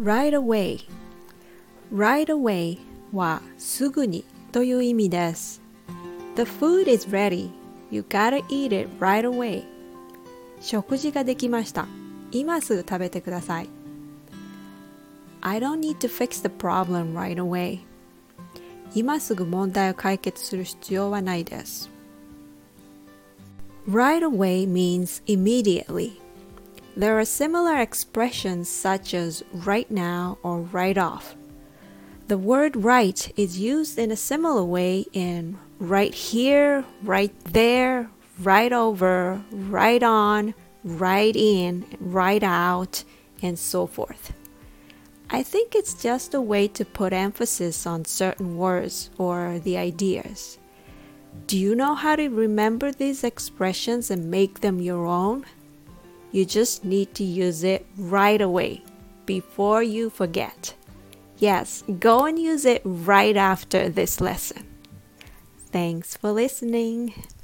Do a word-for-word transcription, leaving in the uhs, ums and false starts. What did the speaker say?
right away right away はすぐにという意味です。The food is ready. You gotta eat it right away. 食事ができました。今すぐ食べてください。I don't need to fix the problem right away. 今すぐ問題を解決する必要はないです。Right away means immediately. There are similar expressions such as right now or right off. The word right is used in a similar way in right here, right there, right over, right on, right in, right out, and so forth. I think it's just a way to put emphasis on certain words or the ideas. Do you know how to remember these expressions and make them your own? You just need to use it right away, before you forget. Yes, go and use it right after this lesson. Thanks for listening.